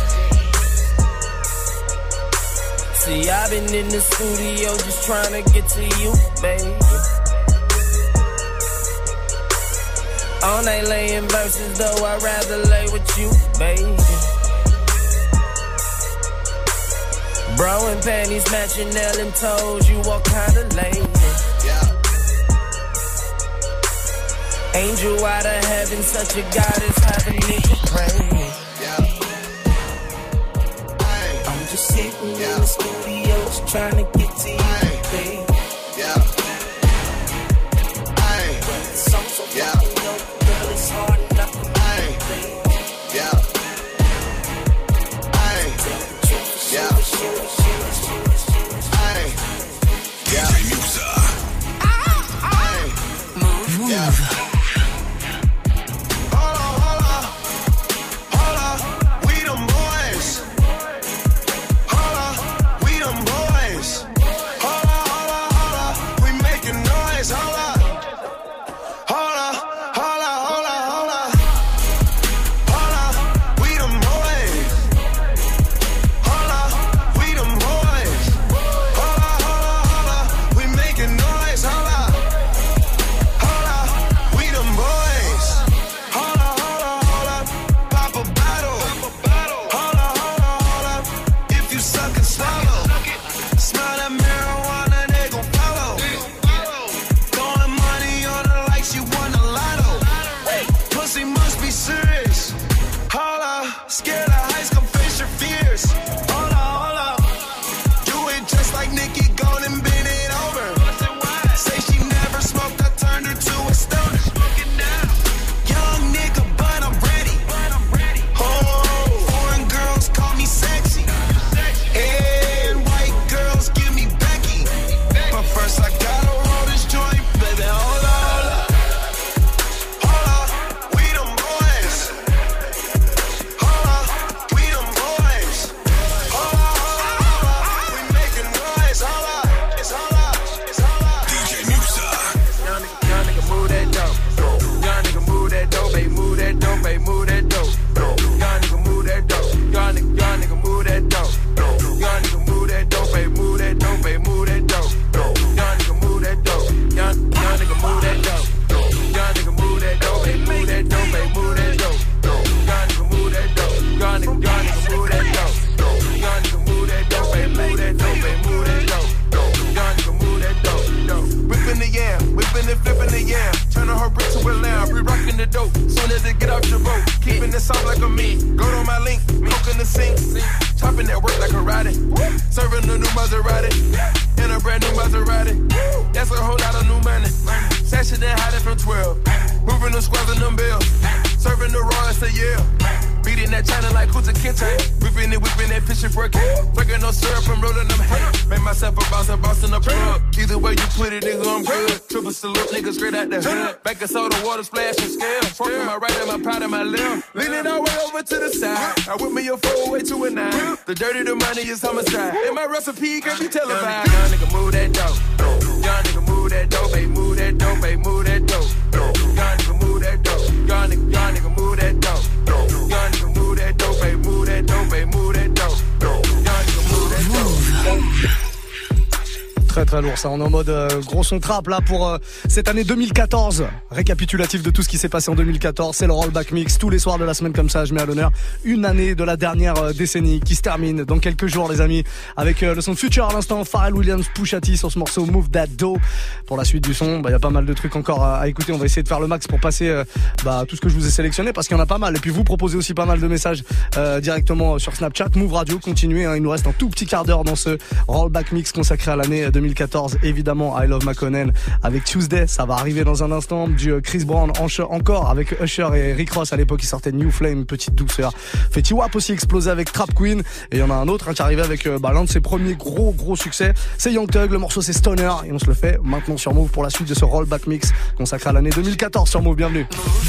See, I've been in the studio just trying to get to you, baby. All night laying verses, though I'd rather lay with you, baby. Bro and panties matching, nail and toes, you all kinda lame. Angel out of heaven, such a goddess, have a nigga praying. Just sitting in the studio, just trying to get to you, babe. The song's so fucking dope, girl, it's hard enough for me, babe. DJ Muxa. Move. in that China like Kuta Kinte. Whipping that fish and working. Working no syrup and rolling them hay. Make myself a boss in the plug. Either way you put it, nigga, I'm good. Triple salute, nigga, straight out the hood. Back of soda, water splash and scale. Forking my right and my pot and my left. Leaning all the way over to the side. I whip me a 4-way to a 9. The dirty, the money is homicide. And my recipe can be televised. Young nigga, move that dope. Young nigga, move that dope, baby, move that dope, baby, move that dope. Young nigga, move that dope. Young nigga, move that dope. Young nigga, move that dope, baby, move that dope, baby, move that dope. Young nigga, move that dope. Très très lourd ça, on est en mode gros son trap là pour cette année 2014. Récapitulatif de tout ce qui s'est passé en 2014, c'est le Rollback Mix. Tous les soirs de la semaine comme ça, je mets à l'honneur une année de la dernière décennie qui se termine dans quelques jours les amis. Avec le son de Future à l'instant, Pharrell Williams, Pusha T sur ce morceau Move That Dough. Pour la suite du son, y a pas mal de trucs encore à écouter. On va essayer de faire le max pour passer tout ce que je vous ai sélectionné parce qu'il y en a pas mal. Et puis vous proposez aussi pas mal de messages directement sur Snapchat, Move Radio. Continuez, il nous reste un tout petit quart d'heure dans ce Rollback Mix consacré à l'année 2014, évidemment I Love McConnell avec Tuesday, ça va arriver dans un instant, du Chris Brown encore avec Usher et Rick Ross à l'époque, il sortait New Flame, petite douceur. Fetty Wap aussi explosé avec Trap Queen, et il y en a un autre qui arrivait avec l'un de ses premiers gros succès, c'est Young Thug, le morceau c'est Stoner, et on se le fait maintenant sur Move pour la suite de ce Rollback Mix consacré à l'année 2014 sur Move, bienvenue.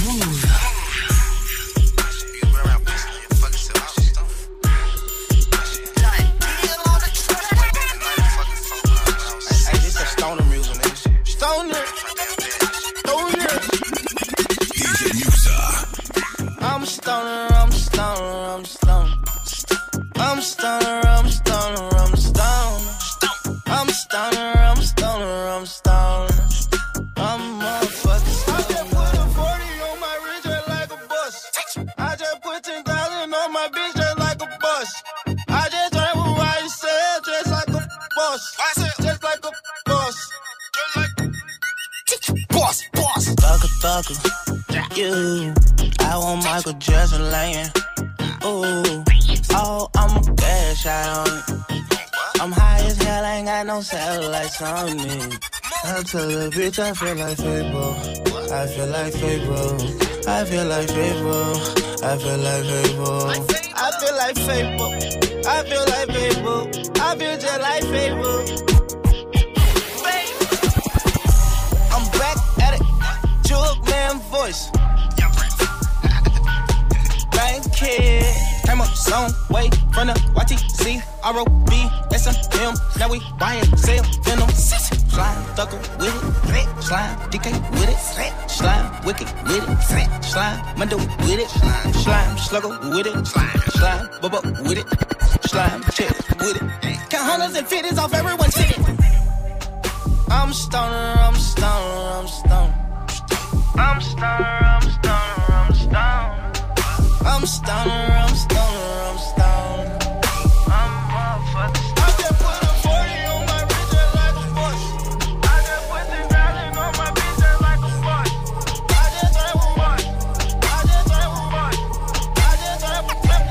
You, I want Michael Jackson laying. Ooh, oh, I'm a bad shot on it. I'm high as hell, I ain't got no satellites on me. I tell the bitch I feel like Fable. I feel like Fable. I feel like Fable. I feel like Fable. I feel like Fable. I feel like Fable. I feel just like Fable. I'm back at it. Jug man voice. Kid. Came up some way from the YTC, ROB, SMM. Now we buying, sell, venom. Slime, thugger with it. Slime, DK with it. Slime, wicked with it. Slime, Mundo with it. Slime, slugger with it. Slime, bubba with it. Slime, chick with it. Count hundreds and fifties off everyone's shit. I'm stoner, I'm stoner, I'm stoner. I'm stoner, I'm stoner, I'm stoner. I'm stoner, I'm stoner, I'm stoner. I'm motherfucking. I just put a 40 on my wrist just like a bush. I just put 10,000 on my bitch just like a bush. I just drank with one. I just drank with one. I just drank with one.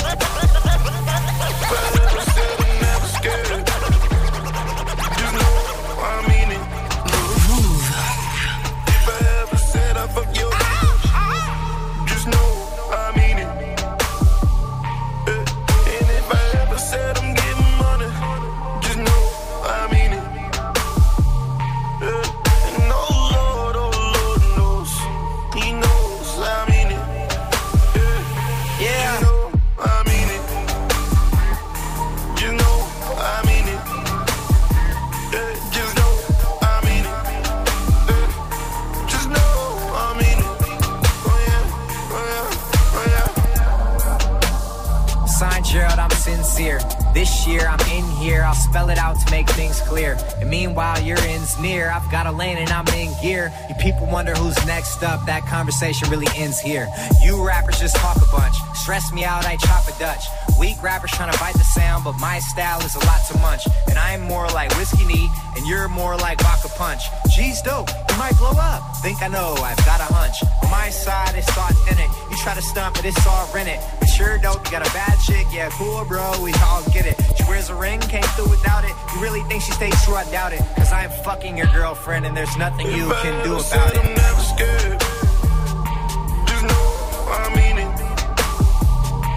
Forever said I'm never scared. Just know I mean it. If I ever said I fuck your bitch, just know I mean it. And if I ever said I'm getting money, just know I mean it. And oh Lord knows, He knows I mean it. Yeah, you know I mean it. You know I mean it. Just know I mean it. Just know I mean it. Oh yeah, oh yeah. Signed Gerald, I'm sincere. This year I'm in here, I'll spell it out to make things clear. And meanwhile your end's near, I've got a lane and I'm in gear. You people wonder who's next up, that conversation really ends here. You rappers just talk a bunch, stress me out, I chop a Dutch. Weak rappers trying to bite the sound, but my style is a lot to munch. And I'm more like Whiskey Neat, and you're more like Vodka Punch. G's dope, you might blow up. Think I know, I've got a hunch. On my side, it's authentic. You try to stunt, but it's all rented. But sure dope, you got a bad chick, yeah, cool, bro, we all get it. She wears a ring, came through without it. You really think she stays true? I doubt it. Cause I'm fucking your girlfriend, and there's nothing you can do about it. I'm never scared. Just know I mean it.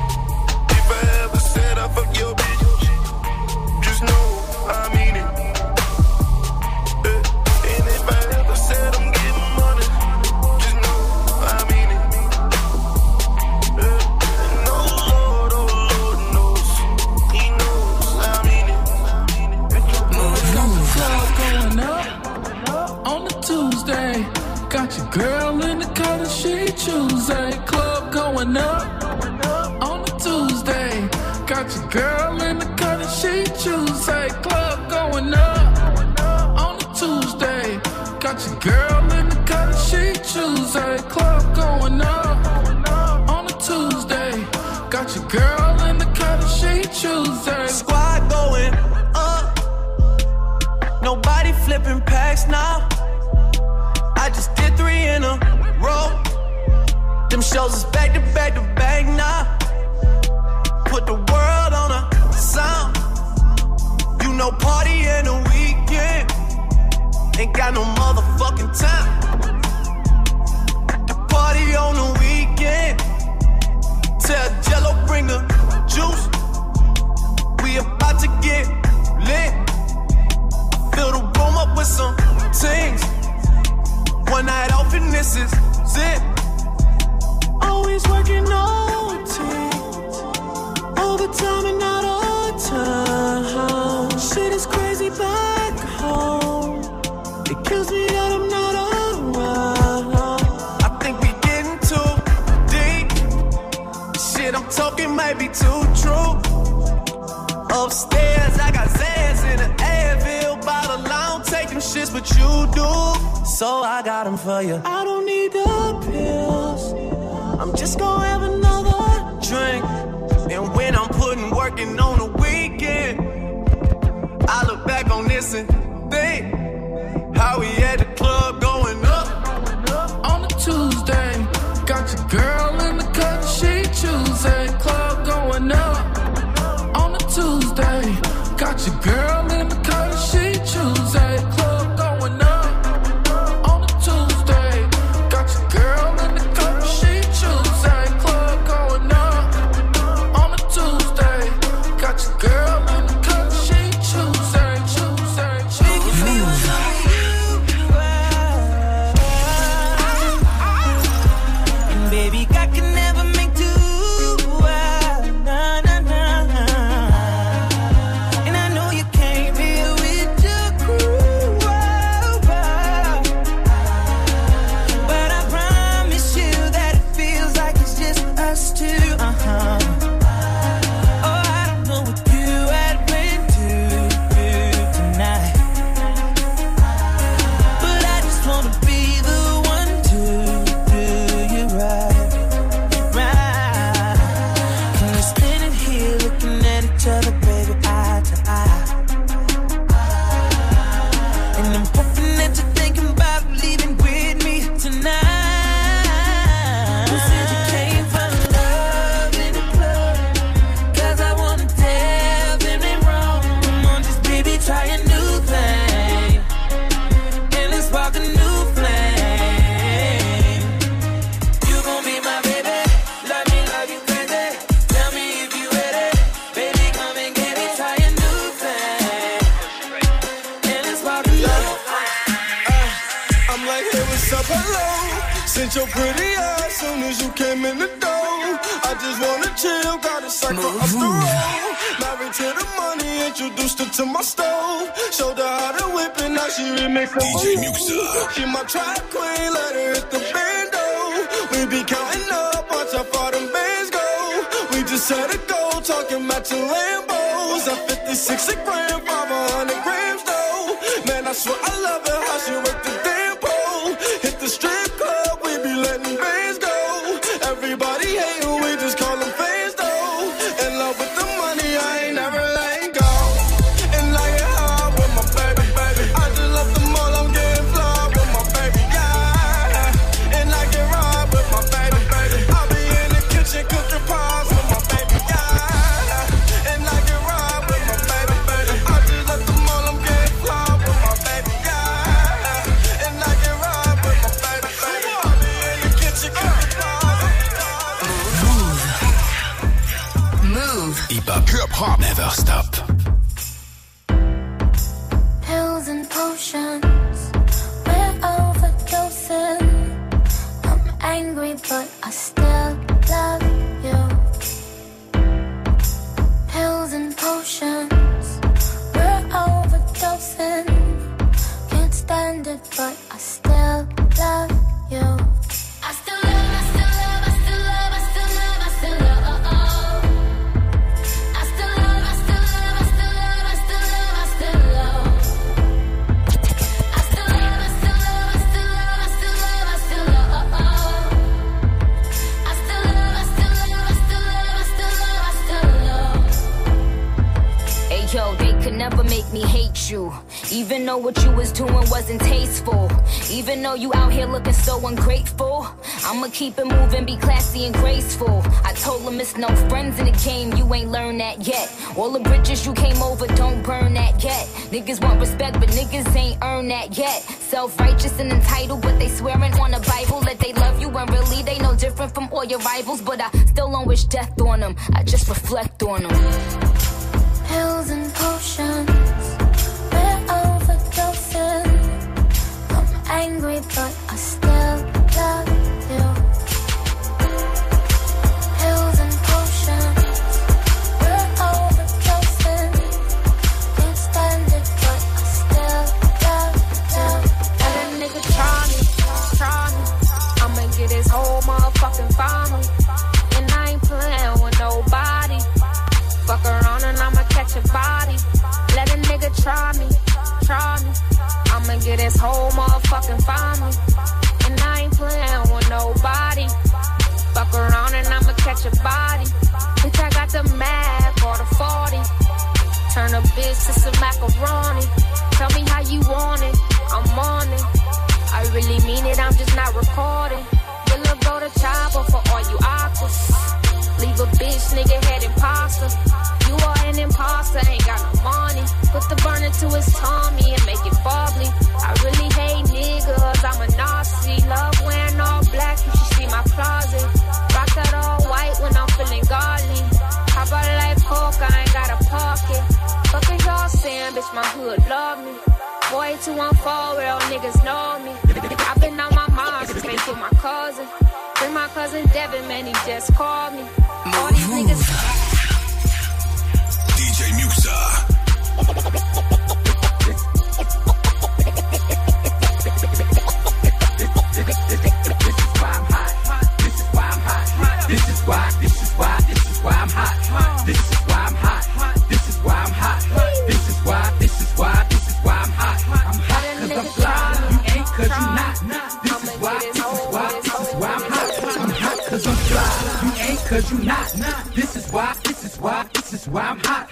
Got your girl in the cut and she choose. Hey, club going up on a Tuesday. Got your girl in the cut and she choose. Hey, club going up on a Tuesday. Got your girl in the cut and she choose. Hey. Squad going up. Nobody flipping packs now. I just did 3 in a row. Them shows is back to back to back now. Put the world on a sound. You know, party in the weekend. Ain't got no motherfucking time. The party on the weekend. Tell Jello bring the juice. We about to get lit. Fill the room up with some things. One night off and this is it. Always working OT. Overtime and out of time. Shit is crazy back home. It kills me that I'm not around. I think we getting too deep. The shit I'm talking might be too true. Upstairs I got Zans in an Advil bottle. I don't take them shits, but you do. So I got them for you. I don't need the pills. I'm just gonna have another drink. And when I'm putting working on the weekend, I look back on this and think how we at the club going up on a Tuesday. Got your girl in the cut, she choose. A club going up on a Tuesday. Got your girl in the cut, she choose. A club going up on a Tuesday. Got your girl in the cut, she choose. A club going up on a Tuesday. Got your girl in the cut, she choose. A choose. A choose. Baby, I can never make two. Nah, nah, nah. And I know you came here with your crew. But I promise you that it feels like it's just us two. Oh, I don't know what you had planned to do tonight. But I just wanna be the one to do you right. Other baby, eye to eye. And I'm hoping that you're thinking about leaving with me tonight. You said you came for love in the club, 'cause I wanna tell them they wrong. Come on, just baby, try a new thing, and let's spark a new flame. You gon' be my baby, love me you crazy. Tell me if you ready. Hello, sent your pretty ass soon as you came in the door. I just wanna chill, got a cycle up the road. Married to the money, introduced her to my stove. Showed her how to whip it, now she remix her DJ Muxa. She my track queen, let her hit the bando. We be counting up, watch how far them bands go. We just set a goal, talking matching Lambos. At 56 a gram, 500 grams though. Man, I swear I love it, how she work the damn pole. Hit the strip club, we be letting bands go. Everybody hating, we just call them fans though. In love with the money, I ain't never letting go. And like it hard with my baby, baby. I just left the mall, I'm getting flawed with my baby, yeah. And I get robbed with my baby, baby. I'll be in the kitchen cooking pies with my baby, yeah. And I get robbed with my baby, baby. I just left the mall, I'm getting flawed with my baby, yeah. And I get robbed with my baby, baby. I'll be in the kitchen cooking pies. Move. Hip hop never stop. Pills and potions, we're overdosing. I'm angry, but I still love you. Pills and potions, we're overdosing. Can't stand it, but I still love you. I still love, I still love, I still love, I still love, I still love. I still could never make me hate you. Even though what you was doing wasn't tasteful. Even though you out here looking so ungrateful. I'ma keep it moving, be classy and graceful. I told him it's no friends in the game, you ain't learned that yet. All the bridges you came over, don't burn that yet. Niggas want respect, but niggas ain't earned that yet. Self-righteous and entitled, but they swearing on the Bible that they love you when really they no different from all your rivals. But I still don't wish death on them, I just reflect on them. Pills and potions, we're overdosing. I'm angry, but I still love you. Pills and potions, we're overdosing. Can't stand it, but I still love you. Let a nigga try me. I'ma get his whole motherfucking family. And I ain't playing with nobody. Fuck around and I'ma catch a body. Let a nigga try me. I'ma get his whole motherfucking family. And I ain't playing with nobody. Fuck around and I'ma catch a body. Bitch, I got the Mac or the 40. Turn a bitch to some macaroni. Tell me how you want it, I'm on it. I really mean it, I'm just not recording. Will go to chopper for all you actors. Leave a bitch, nigga, head imposter. You are an imposter, ain't got no money. Put the burner to his tummy and make it bubbly. I really hate niggas, I'm a Nazi. Love wearing all black, you should see my closet. Rock that all white when I'm feeling godly. How about life coke, I ain't got a pocket. Fuck is y'all saying, bitch, my hood love me. Boy, 214, real niggas know me. I've been on my mind since they took my cousin. Bring my cousin Devin, man, he just called me. All these niggas. DJ Muxa. Cause you not. This is why I'm hot.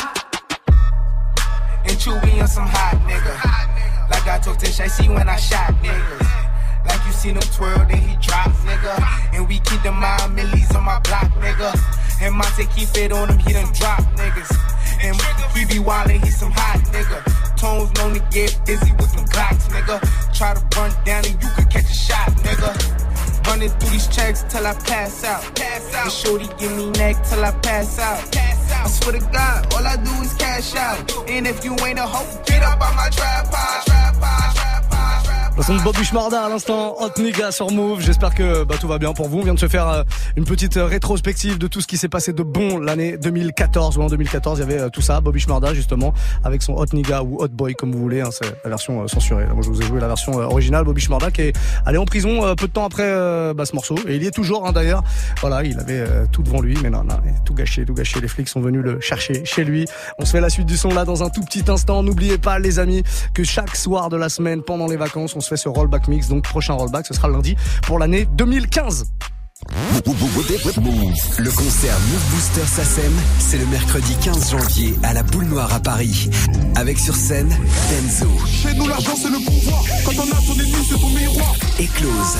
And Chewy on some hot nigga. Like I told Tish, I see when I shot niggas. Like you seen him twirl, then he drop, nigga. And we keep the mind millies on my block, nigga. And Monte keep it on him, he done drop niggas. And he be wildin', he some hot nigga. Tones known to get busy with some Glocks, nigga. Try to run down and you could catch a shot, nigga. Running through these checks till I pass out. And shorty give me neck till I pass out. I swear to God, all I do is cash out. And if you ain't a hoe, get up on my trap pod. Le son de Bobby Shmurda à l'instant, Hot Nigga sur Move. J'espère que tout va bien pour vous. On vient de se faire une petite rétrospective de tout ce qui s'est passé de bon l'année 2014. Ouais, en 2014, il y avait tout ça. Bobby Shmurda justement avec son Hot Nigga ou Hot Boy comme vous voulez. Hein, c'est la version censurée. Moi, je vous ai joué la version originale. Bobby Shmurda qui est allé en prison peu de temps après ce morceau. Et il y est toujours hein, d'ailleurs. Voilà, il avait tout devant lui, mais non, tout gâché. Les flics sont venus le chercher chez lui. On se fait la suite du son là dans un tout petit instant. N'oubliez pas les amis que chaque soir de la semaine pendant les vacances, on se fait ce rollback mix. Donc prochain rollback, ce sera lundi pour l'année 2015. Le concert Move Booster SACEM, c'est le mercredi 15 janvier à la Boule Noire à Paris. Avec sur scène Benzo. Chez nous l'argent c'est le pouvoir. Quand on a ton ennemi c'est ton miroir. Éclose.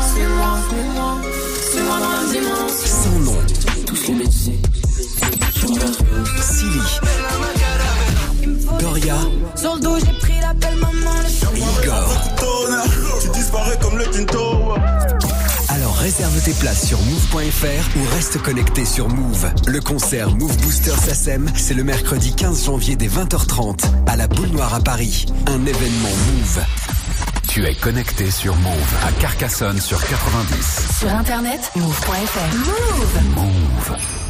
C'est moi dans la dimanche. Sans nom. Tous les métiers. Silly. Doria. Sur le dos j'ai pris l'appel maman. Igor. Tu disparais comme le Tinto. Alors réserve tes places sur move.fr ou reste connecté sur Move. Le concert Move Booster SACEM, c'est le mercredi 15 janvier dès 20h30 à la Boule Noire à Paris. Un événement Move. Tu es connecté sur Move à Carcassonne sur 90. Sur internet, move.fr. Move.